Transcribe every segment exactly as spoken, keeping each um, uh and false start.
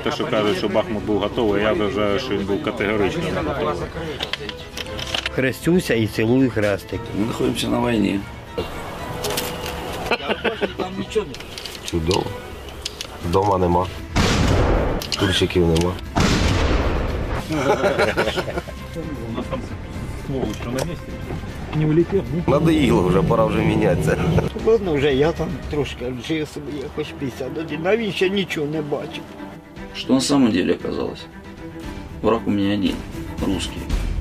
Те, що кажуть, що Бахмут був готовий, я вважаю, що він був категорично не готовий. Хрестюся і цілую хрестик. Ми знаходимося на війні. Чудово. Вдома нема. Кульчиків нема. Не улетів? Надоїло вже, пора вже мінятися. Ладно, вже я там трошки жив собі, якось п'ятдесят один, навіть ще нічого не бачив. Что на самом деле оказалось? Враг у меня один, русский.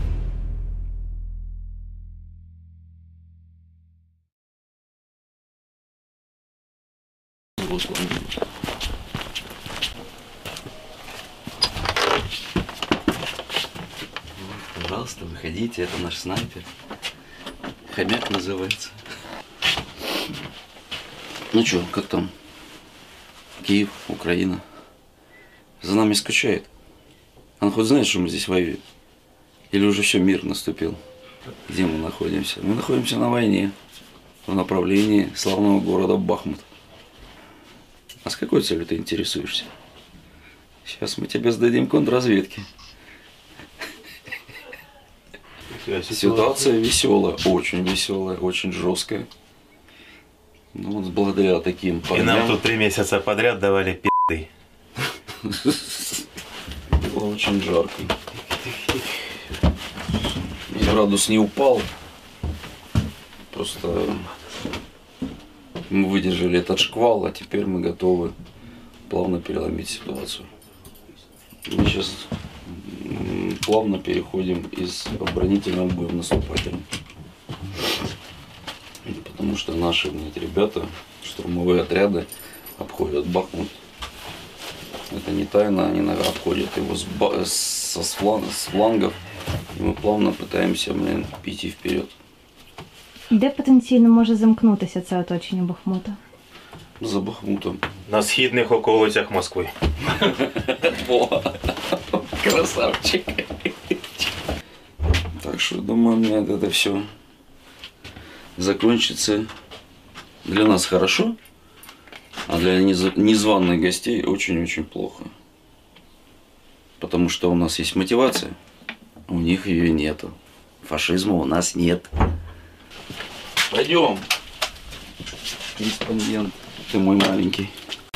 Пожалуйста, выходите, это наш снайпер. Хомяк называется. Ну чё, как там? Киев, Украина. За нами скучает. Он хоть знает, что мы здесь воюем? Или уже все, мир наступил? Где мы находимся? Мы находимся на войне. В направлении славного города Бахмут. А с какой целью ты интересуешься? Сейчас мы тебе сдадим контрразведки. Ситуация веселая, очень веселая, очень жесткая. Ну вот благодаря таким парням. И нам тут три месяца подряд давали пи***ы. Было очень жарко. И градус не упал. Просто мы выдержали этот шквал, а теперь мы готовы плавно переломить ситуацию. Мы сейчас плавно переходим из оборонительного боя в наступательный. Потому что наши ребята, штурмовые отряды, обходят Бахмут. Это не тайна, они обходят его с, со, с, фланг, с флангов. И мы плавно пытаемся, блин, піти вперед. Де потенційно може замкнутися це оточення Бахмута? За Бахмутом. На східних околицях Москви. О, красавчик. Так что, думаю, мне это все закончится для нас хорошо, а для незваных гостей очень-очень плохо. Потому что у нас есть мотивация, у них ее нету. Фашизма у нас нет. Пойдем, корреспондент, ты мой маленький.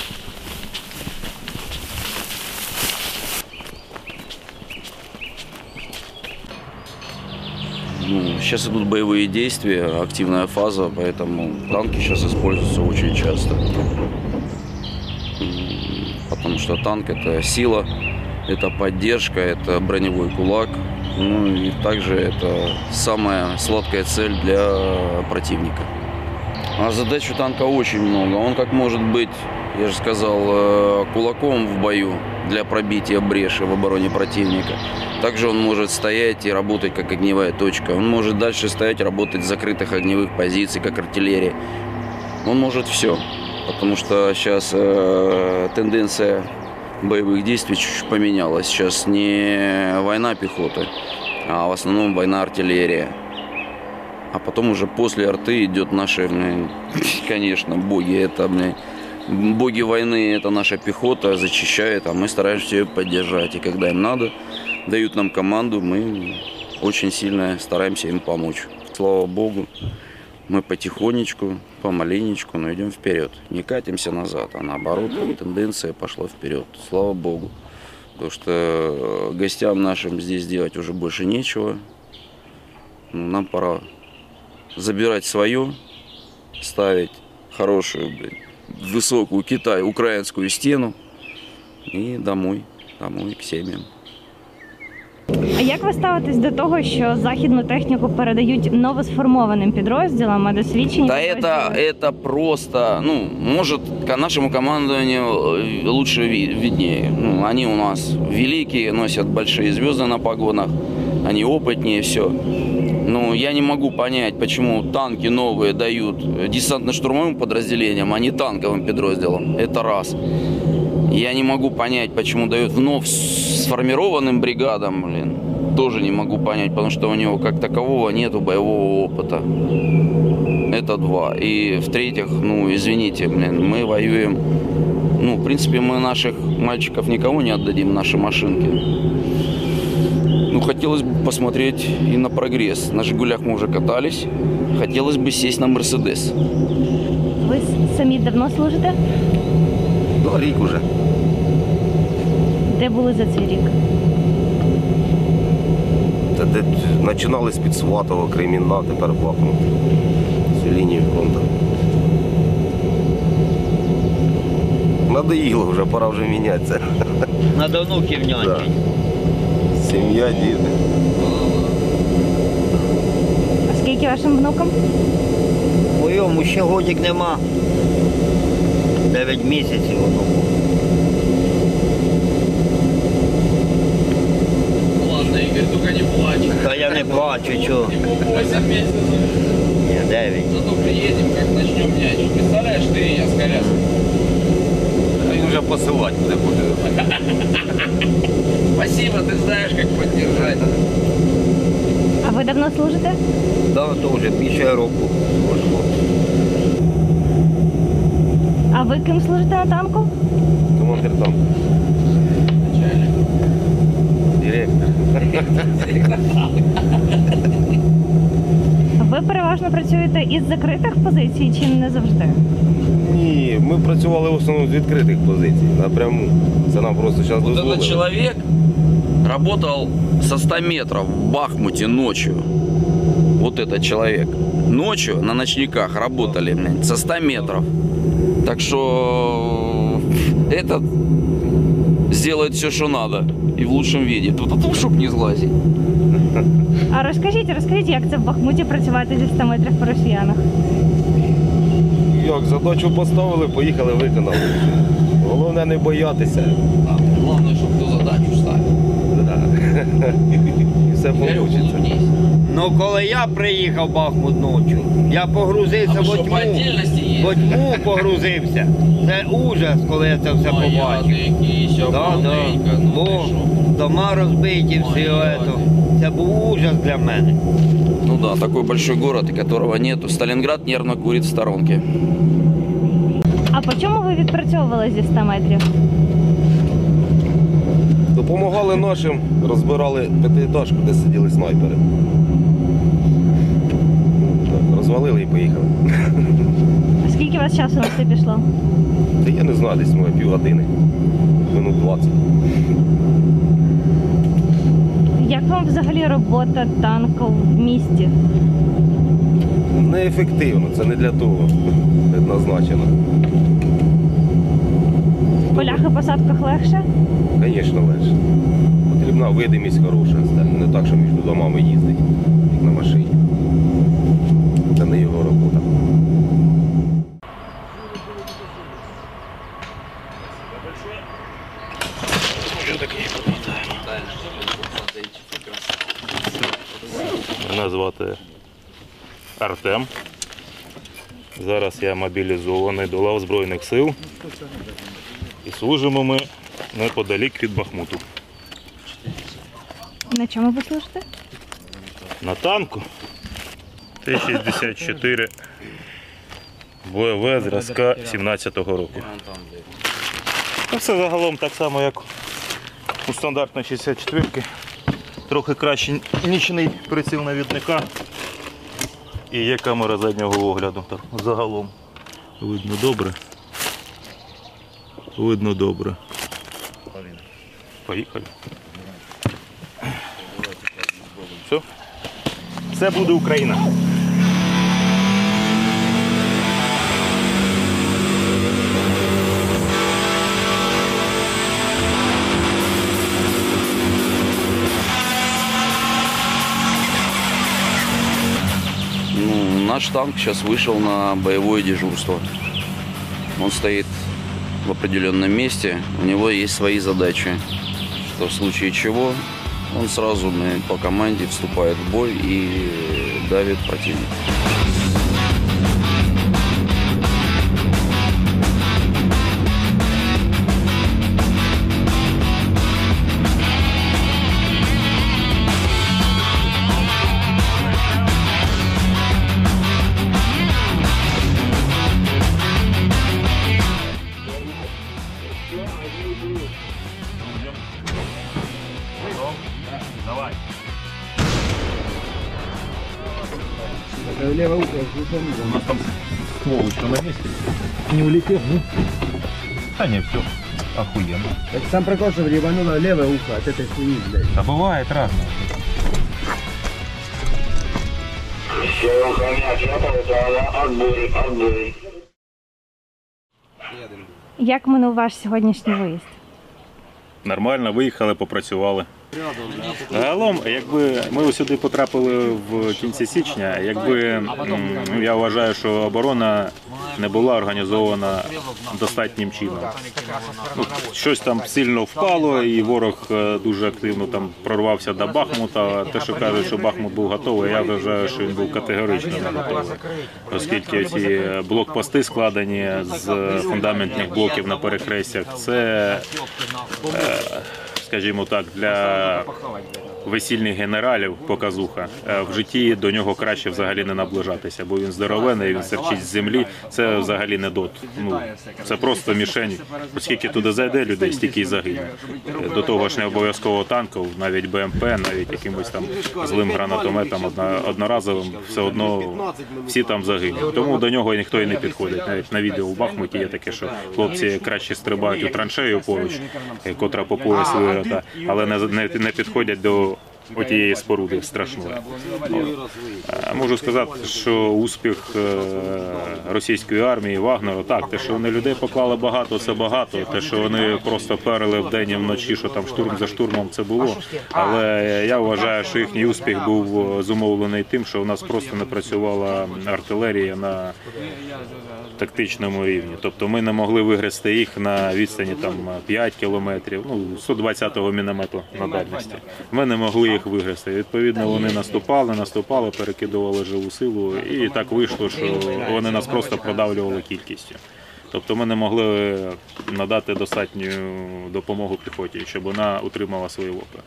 Ну, сейчас идут боевые действия, активная фаза, поэтому танки сейчас используются очень часто. Потому что танк — это сила, это поддержка, это броневой кулак. Ну и также это самая сладкая цель для противника. А задач у танка очень много. Он как может быть, я же сказал, кулаком в бою для пробития бреши в обороне противника. Также он может стоять и работать как огневая точка. Он может дальше стоять и работать с закрытых огневых позиций, как артиллерия. Он может все. Потому что сейчас э, тенденция боевых действий чуть-чуть поменялась. Сейчас не война пехоты, а в основном война артиллерия. А потом уже после арты идет наши, конечно, боги. Это, боги войны, это наша пехота зачищает, а мы стараемся ее поддержать. И когда им надо, дают нам команду, мы очень сильно стараемся им помочь. Слава Богу, мы потихонечку, помаленечку, но идем вперед. Не катимся назад, а наоборот, тенденция пошла вперед. Слава Богу. Потому что гостям нашим здесь делать уже больше нечего. Нам пора забирать свое, ставить хорошую, блин, высокую Китай, украинскую стену и домой, домой к семьям. А як ви ставитесь до того, що західну техніку передають новосформованим підрозділам, а досвідчені Да підрозділи... это, это просто, ну, может, к нашему командованию лучше виднее. Ну, они у нас великие, носят большие звезды на погонах, они опытнее, все. Но я не могу понять, почему танки новые дают десантно-штурмовым подразделениям, а не танковым подразделам. Это раз. Я не могу понять, почему дают вновь сформированным бригадам, блин. Тоже не могу понять, потому что у него как такового нету боевого опыта. Это два. И в-третьих, ну, извините, блин, мы воюем Ну, в принципе, мы наших мальчиков никого не отдадим, наши машинки. Ну, хотелось бы посмотреть и на прогресс. На «Жигулях» мы уже катались. Хотелось бы сесть на «Мерседес». Ви с- самі давно служите? Ну, рік уже. Де були за цей рік? Та де починали з-під Сватова, Кремінна, тепер Бахмут. Всю лінію фронту. Надоїло вже, пора вже мінятися. Надо внуків Да. нянчить. Сім'я, діти. А скільки вашим внукам? Моєму ще годик нема. Дев'ять місяців воно. Ладно, Игорь, только не плачь. Та я не плачу, чого. восемь месяцев. Ні, дев'ять. Зато приедем, как начнем нянчить. Представляешь, ты и я с коляской. Він вже посилати буде. Спасибо, ты знаешь, как поддержать. А ви давно служите? Да, то вже більше року. Можемо. А ви ким служите на танку? Командир там. Начальник. Директор. Ви переважно працюєте із закритих позицій чи не завжди? Ні, ми працювали в основному з відкритих позицій, напряму. Це нам просто зараз Вот дозволили. этот человек работал со ста метров в Бахмуте ночью. Вот этот человек. Ночью на ночниках работали, блин, со ста метров. Так что этот сделает все, что надо. И в лучшем виде. Тут а чтоб не сглазить. А розкажіть, розкажіть, як це в Бахмуті працювати зі ста метрів по росіянах? Як задачу поставили, поїхали, виконали. Головне не боятися. Главное, чтобы кто задачу ставил. Да. І все вийде. Ну коли я приїхав в Бахмут ночі, я погрузився А в вы что, тьму. по отдельности В ездите? тьму погрузився. Це ужас, коли я це все побачив. Ягодики, все Да, да. ну Бо ты шо. дома розбиті, все Ой, це. Це був ужас для мене. Ну да, такой большой город, и которого нету. Сталинград нервно курит в сторонке. А по чому ви відпрацьовували зі ста метрів? Допомагали нашим, розбирали п'ятиэтажку, де сиділи снайпери. Так, розвалили і поїхали. А скільки у вас часу на це пішло? Та я не знаю, десь моє півгодини, минут двадцять. Як вам взагалі робота танку в місті? Неефективно, це не для того предназначено. В полях і посадках легше? Звісно, легше. Потрібна видимість хороша, це не так, що між домами їздить, як на машині. Це не його робота. Мене звати Артем. Зараз я мобілізований до лав Збройних сил. І служимо ми неподалік від Бахмуту. На чому ви служите? На танку Т шістдесят чотири БВ зразка сімнадцятого року. Та все загалом так само, як у стандартної шістдесят четвірки. Трохи краще нічний приціл навідника і є камера заднього огляду. Так, загалом видно добре. Видно добре. Поїхали. Все. Все буде Україна. Ну, наш танк сейчас вышел на боевое дежурство. Он стоит в определенном месте, у него есть свои задачи, что в случае чего он сразу по команде вступает в бой и давит противника. Давай. Левое ухо, У нас там ствол еще на месте. Не улетел, ну. А не, все. Охуенно. Так сам прикол, что ревануло левое ухо от этой хуйни, блядь. Да бывает разное. Як минув ваш сьогоднішній виїзд? Нормально, виїхали, попрацювали. Загалом, якби ми сюди потрапили в кінці січня, якби м, я вважаю, що оборона не була організована достатнім чином. Ну, щось там сильно впало, і ворог е, дуже активно там прорвався до Бахмута. Те, що кажуть, що Бахмут був готовий, я вважаю, що він був категорично не готовий. Оскільки ці блокпости складені з фундаментних блоків на перехрестях, це, е, скажімо так, для весільних генералів показуха. В житті до нього краще взагалі не наближатися, бо він здоровений, він серчить з землі. Це взагалі не дот. Ну, це просто мішень. Оскільки туди зайде людей, стільки й загине. До того ж не обов'язково танків, навіть Б М П, навіть якимось там злим гранатометом одна- одноразовим, все одно всі там загинуть. Тому до нього ніхто і не підходить. Навіть на відео в Бахмуті є таке, що хлопці краще стрибають у траншею поруч, котра по пояс вирота, але не, не, не підходять до отієї споруди страшної. От. Можу сказати, що успіх е, російської армії, Вагнеру, так, те, що вони людей поклали багато, це багато, те, що вони просто перли вдень і вночі, що там штурм за штурмом, це було. Але я вважаю, що їхній успіх був зумовлений тим, що у нас просто не працювала артилерія на тактичному рівні. Тобто ми не могли вигрести їх на відстані там п'ять кілометрів, ну, сто двадцятого міномету на дальності. Ми не могли їх вигрести. Відповідно, вони наступали, наступали, перекидували живу силу, і так вийшло, що вони нас просто продавлювали кількістю. Тобто ми не могли надати достатню допомогу піхоті, щоб вона утримала свої лопи.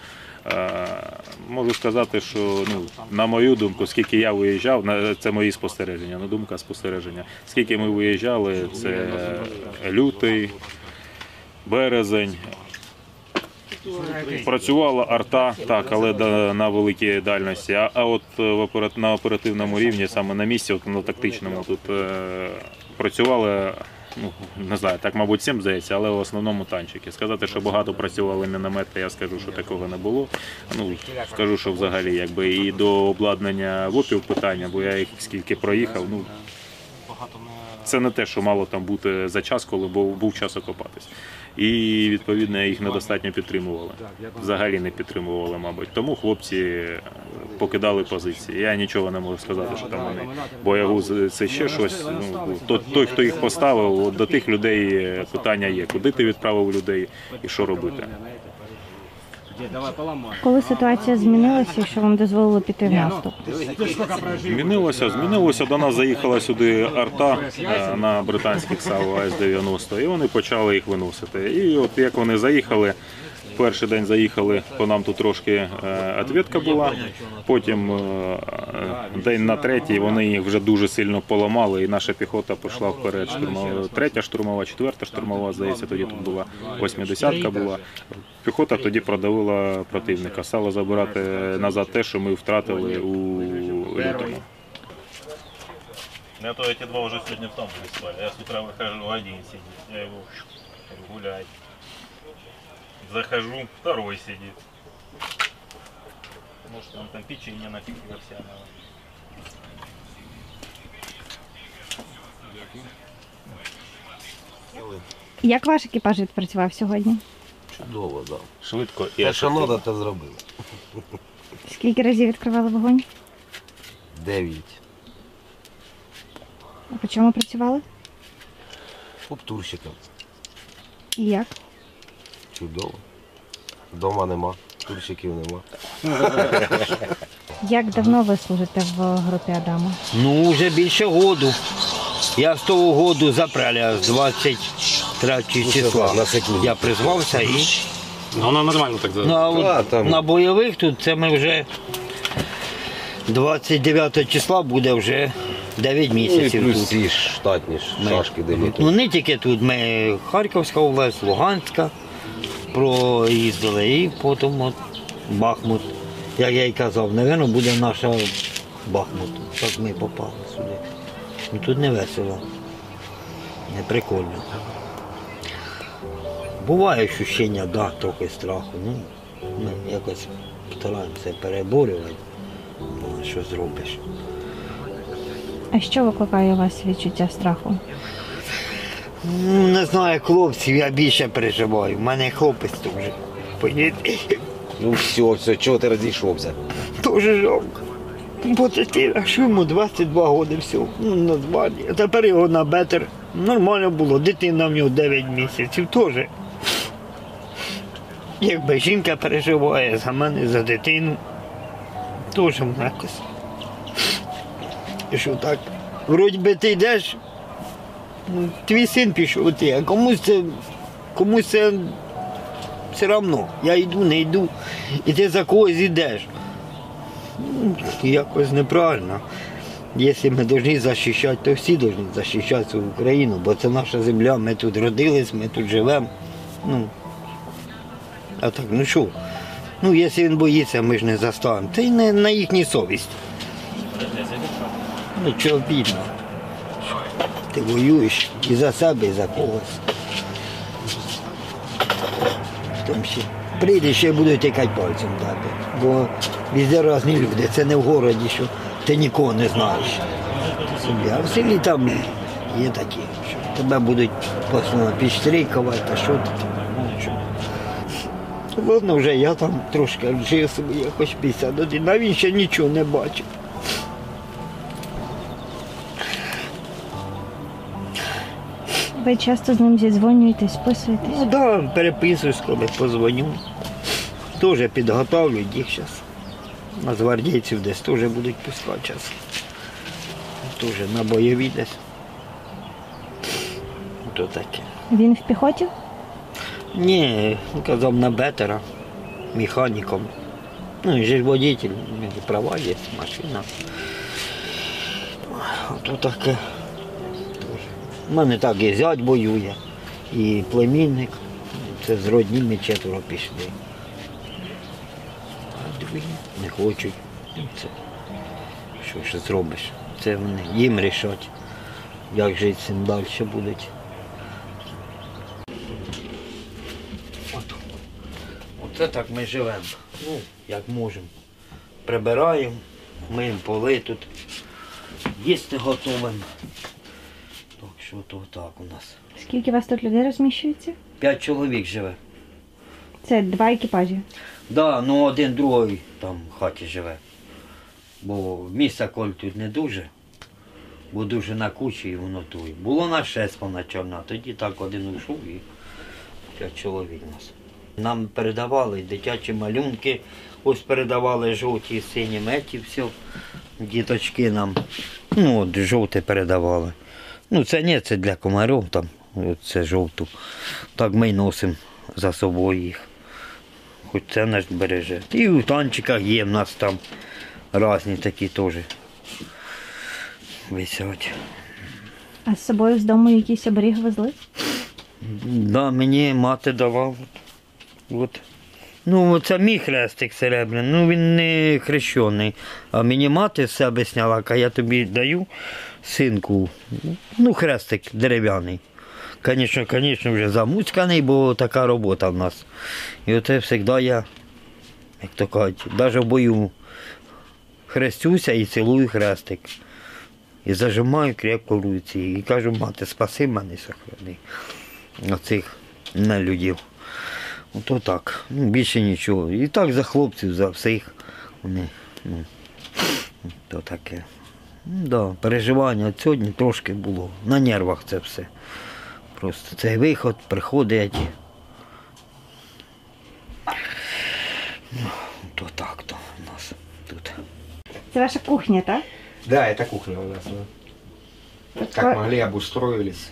Можу сказати, що, ну, на мою думку, скільки я виїжджав, це мої спостереження, не думка, а спостереження. Скільки ми виїжджали, це лютий, березень. Працювала арта, так, але на великій дальності. А, а от на оперативному рівні, саме на місці, от на тактичному, тут е, працювали, ну, не знаю, так, мабуть, всім здається, але в основному танчики. Сказати, що багато працювали міномети, я скажу, що такого не було. Ну, скажу, що взагалі, якби і до обладнання ВОПів питання, бо я їх скільки проїхав, ну, це не те, що мало там бути за час, коли був, був час окопатись. І, відповідно, їх недостатньо підтримували. Взагалі не підтримували, мабуть. Тому хлопці покидали позиції. Я нічого не можу сказати, що там вони боягузи, це ще щось. Ну, той, хто їх поставив, до тих людей питання є. Куди ти відправив людей і що робити? Коли ситуація змінилася і що вам дозволило піти в наступ? Змінилося, змінилося. До нас заїхала сюди арта на британських САУ А С дев'яносто, і вони почали їх виносити. І от як вони заїхали, перший день заїхали, по нам тут трошки відвідка була, потім день на третій вони їх вже дуже сильно поламали, і наша піхота пішла вперед. Штурмова, третя штурмова, четверта штурмова, здається, тоді тут була восьмидесятка була. Піхота тоді продавила противника, стала забирати назад те, що ми втратили у лютому. Я то эти два уже сегодня в том спали. Я с утра выхожу, один сидит. Я его гулять. Захожу, второй сидит. Может, он там печенье нафиг овсяного. Як ваш екіпаж відпрацював сьогодні? Чудово, так. Швидко і Те, що ефективно. треба, те зробили. Скільки разів відкривали вогонь? Дев'ять. А по чому працювали? Оптурщиком. І як? Чудово. Дома нема, турщиків нема. Як давно ви служите в групі Адама? Ну, вже більше году. Я з того году запраля, з двадцять третього числа. На секунду. Я призвався і... Воно нормально так Ну, а от А, там- на бойових тут це ми вже двадцять дев'ятого числа буде вже дев'ять Ну і місяців плюс тут. ці штатні Ми- шашки дивіться. Ну не тільки тут, ми Харківська область, Луганська проїздили і потім от Бахмут. як я й казав, напевно, буде наша Бахмут. Так ми попали сюди. Ну, тут не весело, не прикольно. Буває відчуття, да, трохи страху. Ну, ми якось стараємося переборювати, ну, що зробиш. А що викликає у вас відчуття страху? Ну, не знаю, хлопців, я більше переживаю. У мене хлопець теж. Поїде. Ну все, все, чого ти розійшовся? Дуже жалко. Бо таки, а що йому двадцять два роки всього, ну, названі. А тепер його на бетер. Нормально було, дитина в нього дев'ять місяців теж. Якби жінка переживає за мене, за дитину, теж якось. І що так, вроді би ти йдеш, ну, твій син пішов, ти, а комусь це, комусь це все одно. Я йду, не йду, і ти за когось йдеш. Ну, якось неправильно. Якщо ми повинні захищати, то всі повинні захищати свою Україну, бо це наша земля, ми тут родились, ми тут живемо. Ну, а так, ну що? Ну, якщо він боїться, ми ж не заставимо. Це й не на їхній совісті. Ну, чого обідно. Ти воюєш і за себе, і за когось. Там ще прийдеш, ще будуть тикати пальцем дати. Бо везде різні люди. Це не в городі, що ти нікого не знаєш. А в селі там є такі, що тебе будуть постійно підстрікувати, а що ти там, ну що. Ладно, вже я там трошки жив собі, я хоч п'ятдесят один, а він ще нічого не бачив. Ви часто з ним зідзвонюєтесь, списуєтесь? Ну так, да, переписуюсь, коли позвоню. Теж підготовлюють їх зараз. На гвардійців десь теж будуть пускати зараз. Теж на бойові десь. То таке. Він в піхоті? Ні, казав на бетера, механіком. Ну, він же ж водитель, у нього права є, машина. Ото таке. У мене так і зять воює, і племінник. Це з родніми четверо пішли. А дві не хочуть. Це, що ж зробиш? Це вони їм рішать, як жити з цим далі будуть. От. Оце так ми живемо. Ну, як можемо. Прибираємо, миємо поли тут, їсти готуємо. Так що то так у нас. Скільки у вас тут людей розміщується? П'ять чоловік живе. Це два екіпажі. Так, да, ну один другий там в хаті живе. Бо місця коль тут не дуже, бо дуже на кучі і воно тує. Було на шесть поначально, а тоді так один ушов і п'ять чоловік у нас. Нам передавали дитячі малюнки, ось передавали жовті, сині меті, все. Діточки нам, ну от жовте передавали. Ну це не, це для комарів там, це жовту. Так ми й носимо за собою їх. Хоч це наш береже. І в танчиках є в нас там різні такі теж висять. А з собою з дому якийсь оберіг везли? Да, мені мати давала. От. Ну, це мій хрестик серебряний, ну він не хрещений. А мені мати з себе сняла, а я тобі даю синку, ну хрестик дерев'яний. Звісно, звісно, вже замуцьканий, бо така робота в нас. І оце завжди я, як то кажуть, навіть в бою хрестюся і цілую хрестик. І зажимаю крепко в руці. І кажу, мати, спаси мене, сохрани. Оцих нелюдів. Ото так, ну, більше нічого. І так за хлопців, за всіх. Вони, ну, то таке. Ну, да, переживання сьогодні трошки було. На нервах це все. Просто цей виход, приходить. Ну, то так, то у нас тут. Це ваша кухня, так? Да, это кухня у нас. Да. Как могли, обустроились.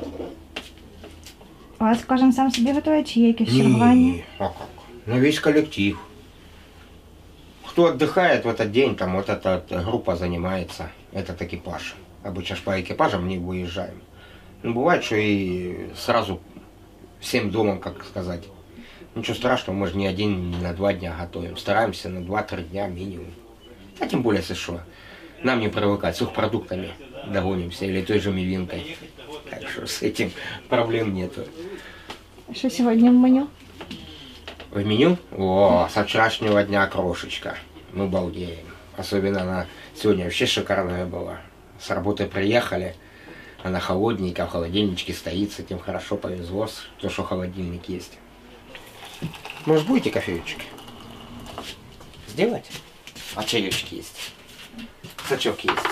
У вас кожен сам собі готує, чи є якесь чергування? Не, а как? Ну, весь коллектив. Кто отдыхает в этот день, там вот эта группа занимается, этот экипаж. Обычно ж по экипажам не выезжаем. Ну, бывает, что и сразу всем домом, как сказать, Ничего страшного, мы же не один, не на два дня готовим. Стараемся на два-три дня минимум. А тем более, если что, нам не привыкать, с их продуктами доводимся или той же мивинкой. Так что с этим проблем нету. Що сьогодні в меню? В меню? О, со вчерашнего дня крошечка. Мы балдеем. Особенно она сегодня вообще шикарная была. С работы приехали, она холодненькая, в холодильничке стоит, с этим хорошо повезло, то, что холодильник есть. Может, будете кофеечек? Сделать? А чаечек есть. Сачок есть.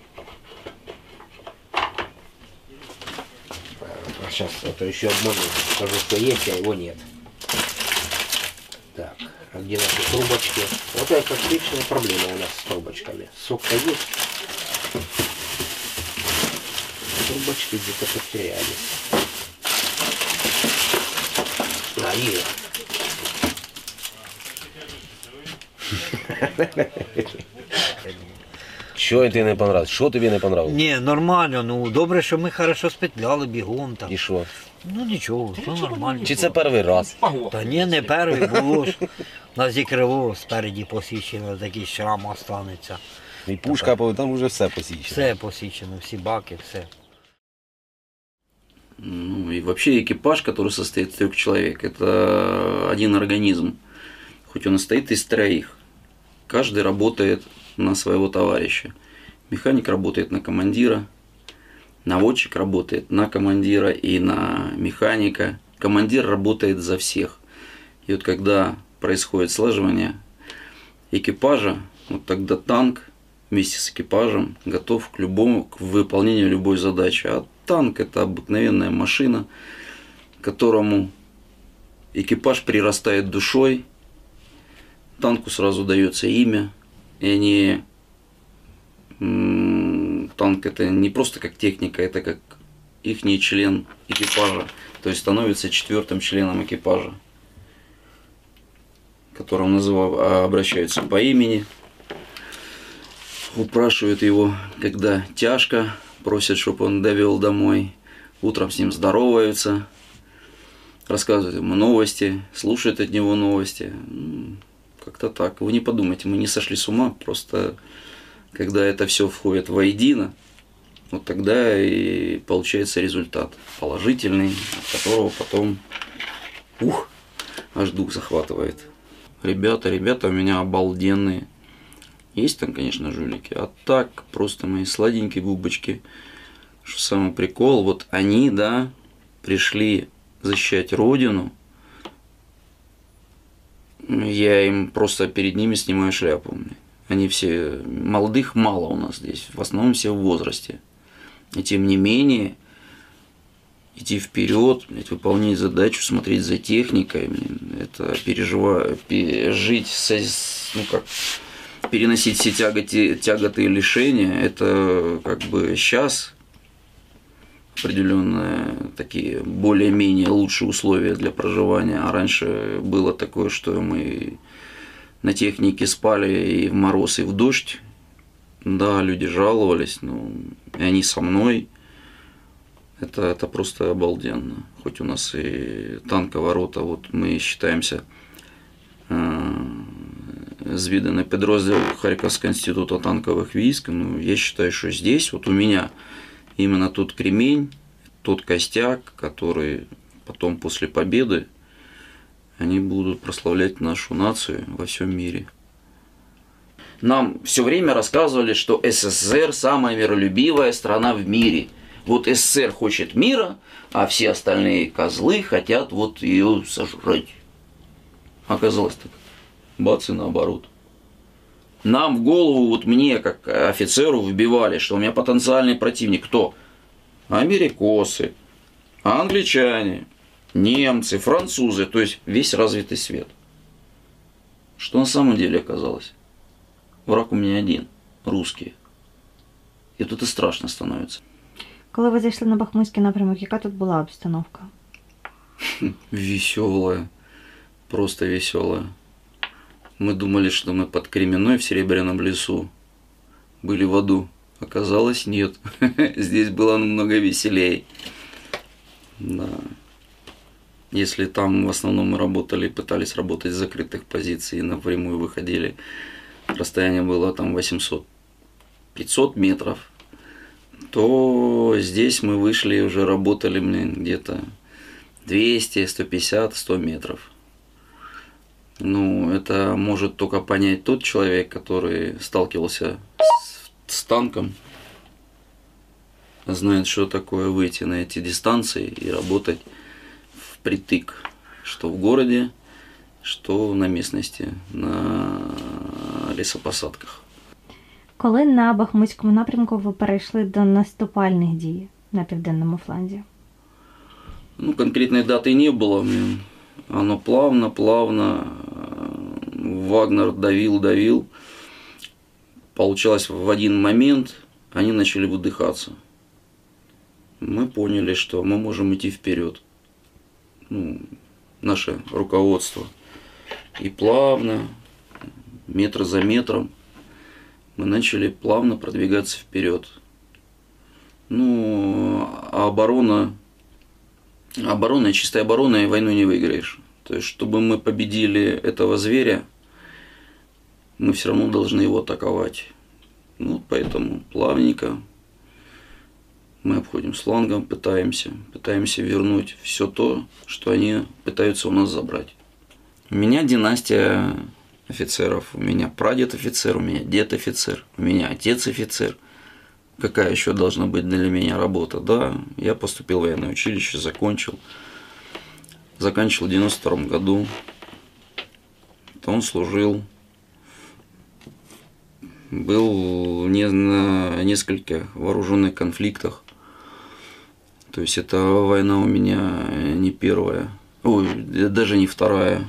Сейчас это еще обману, скажу, что есть, а его нет. Так, а где наши трубочки? Вот это отличная проблема у нас с трубочками. Сок-то есть. Трубочки где-то потерялись. А, их. Що тобі не понравилось? Що тобі не понравилось? Ні, нормально, ну добре, що ми хорошо спетляли бігом там. І що? Ну нічого, все нормально. Чи це перший раз? Та ні, не перший, було ж. У нас і крило спереді посічено, такий шрам останеться. І пушка, там вже все посічено. Все посічено, всі баки, все. Ну и вообще экипаж, который состоит из трех человек, это один организм. Хоть он и состоит из троих, каждый работает на своего товарища. Механик работает на командира, наводчик работает на командира и на механика. Командир работает за всех. И вот когда происходит слаживание экипажа, вот тогда танк вместе с экипажем готов к любому, к выполнению любой задачи. А танк – это обыкновенная машина, которому экипаж прирастает душой, танку сразу дается имя, и они, танк – это не просто как техника, это как ихний член экипажа, то есть становится четвертым членом экипажа, которому называют, обращаются по имени, упрашивают его, когда тяжко, просят, чтобы он довел домой, утром с ним здороваются, рассказывают ему новости, слушают от него новости. Как-то так. Вы не подумайте, мы не сошли с ума, просто когда это все входит воедино, вот тогда и получается результат положительный, от которого потом, ух, аж дух захватывает. Ребята, ребята у меня обалденные. Есть там, конечно, жулики, а так просто мои сладенькие бубочки. Что самый прикол, вот они, да, пришли защищать родину. Я им просто перед ними снимаю шляпу. Они все, молодых мало у нас здесь, в основном все в возрасте. И тем не менее, идти вперед, выполнять задачу, смотреть за техникой, это переживать, жить, со, ну как, переносить все тяготы, тяготы и лишения, это как бы сейчас определенные такие более-менее лучшие условия для проживания. А раньше было такое, что мы на технике спали и в мороз, и в дождь. Да, люди жаловались, но и они со мной. Это, это просто обалденно. Хоть у нас и танковорота, вот мы считаемся зведенный подроздел Харьковского института танковых войск. Ну, я считаю, что здесь вот у меня именно тот кремень, тот костяк, который потом после победы они будут прославлять нашу нацию во всем мире. Нам все время рассказывали, что СССР самая миролюбивая страна в мире. Вот СССР хочет мира, а все остальные козлы хотят вот ее сожрать. Оказалось так. Бац, и наоборот. Нам в голову, вот мне, как офицеру, вбивали, что у меня потенциальный противник кто? Америкосы, англичане, немцы, французы, то есть весь развитый свет. Что на самом деле оказалось? Враг у меня один, русские. И тут и страшно становится. Коли ви зайшли на Бахмутський напрямок, яка тут була обстановка? Веселая, просто веселая. Мы думали, что мы под Кременной в Серебряном лесу были в аду. Оказалось, нет. Здесь было намного веселее. Да. Если там в основном мы работали, пытались работать с закрытых позиций и напрямую выходили, расстояние было там восемьсот-пятьсот метров, то здесь мы вышли и уже работали, блин, где-то двести, сто пятьдесят, сто метров. Ну, это может только понять тот человек, который сталкивался с, с танком, знает, что такое выйти на эти дистанции и работать впритык, что в городе, что на местности, на лісопосадках. Коли на Бахмутському напрямку ви перейшли до наступальних дій на південному фланзі? Ну, конкретной даты не было. Оно плавно, плавно. Вагнер давил, давил. Получалось, в один момент они начали выдыхаться. Мы поняли, что мы можем идти вперед. Ну, наше руководство. И плавно, метр за метром, мы начали плавно продвигаться вперед. Ну, а оборона, оборона, чистой обороной войну не выиграешь. То есть, чтобы мы победили этого зверя, мы все равно должны его атаковать. Ну, поэтому плавненько мы обходим с флангом, пытаемся, пытаемся вернуть все то, что они пытаются у нас забрать. У меня династия офицеров, у меня прадед офицер, у меня дед офицер, у меня отец офицер. Какая еще должна быть для меня работа? Да, я поступил в военное училище, закончил. Заканчивал в девяносто втором году. Он служил. Был не на нескольких вооруженных конфликтах. То есть эта война у меня не первая, ой, даже не вторая.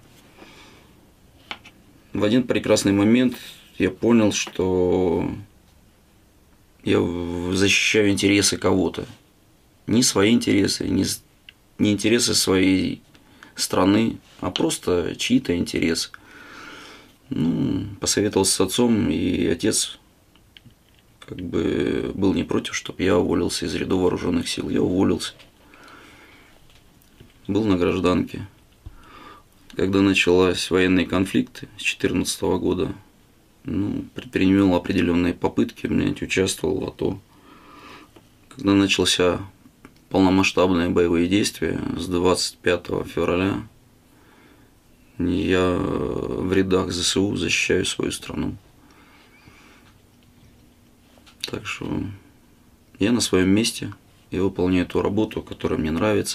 В один прекрасный момент я понял, что я защищаю интересы кого-то. Не свои интересы, не, не интересы своей страны, а просто чьи-то интересы. Ну, посоветовался с отцом, и отец как бы был не против, чтобы я уволился из рядов вооруженных сил. Я уволился. Был на гражданке. Когда начались военные конфликты с две тысячи четырнадцатого года, ну, предпринимал определенные попытки, блядь, участвовал в АТО. Когда начался полномасштабные боевые действия с двадцать пятого февраля, я в рядах ЗСУ защищаю свою страну. Так что я на своем месте и выполняю ту работу, которая мне нравится.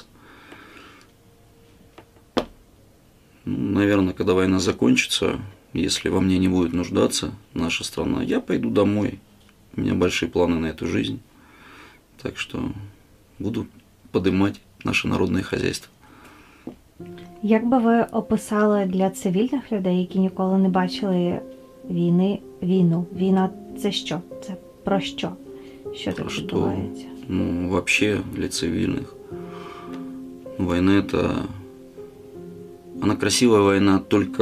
Ну, наверное, когда война закончится, если во мне не будет нуждаться наша страна, я пойду домой. У меня большие планы на эту жизнь. Так что буду поднимать наше народное хозяйство. Як би ви описали для цивільних людей, які ніколи не бачили війни, війну? Війна – це що? Це про що? Що тут відбувається? Ну, вообще для цивильных. Война – это... Она красивая война только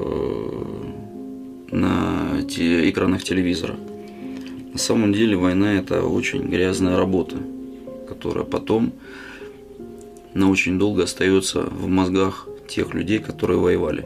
на те экранах телевизора. На самом деле война – это очень грязная работа, которая потом на очень долго остается в мозгах тех людей, которые воевали.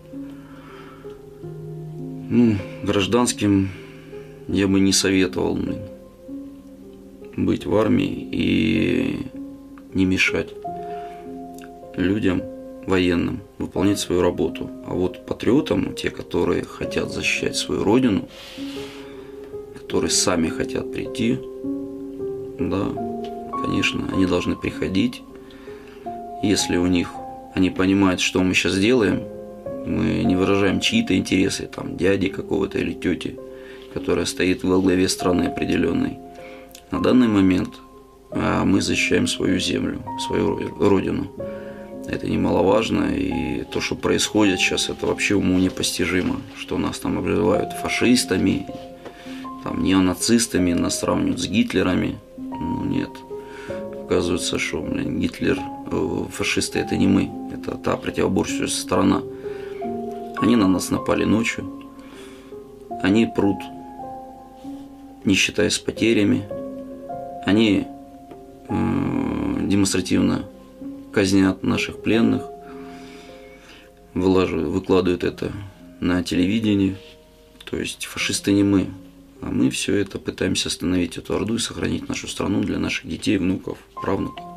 Ну, гражданским я бы не советовал быть в армии и не мешать людям, военным, выполнять свою работу. А вот патриотам, те, которые хотят защищать свою родину, которые сами хотят прийти, да, конечно, они должны приходить. Если у них, они понимают, что мы сейчас делаем, мы не выражаем чьи-то интересы, там, дяди какого-то или тети, которая стоит во главе страны определенной. На данный момент мы защищаем свою землю, свою родину. Это немаловажно, и то, что происходит сейчас, это вообще уму непостижимо, что нас там обзывают фашистами, там, неонацистами, нас сравнивают с Гитлерами. Ну нет, оказывается, что, блин, Гитлер, фашисты – это не мы, это та противоборствующая сторона. Они на нас напали ночью, они прут, не считаясь потерями, они э, демонстративно казнят наших пленных, вылаживают, выкладывают это на телевидении. То есть фашисты не мы, а мы все это пытаемся остановить, эту орду, и сохранить нашу страну для наших детей, внуков, правнуков.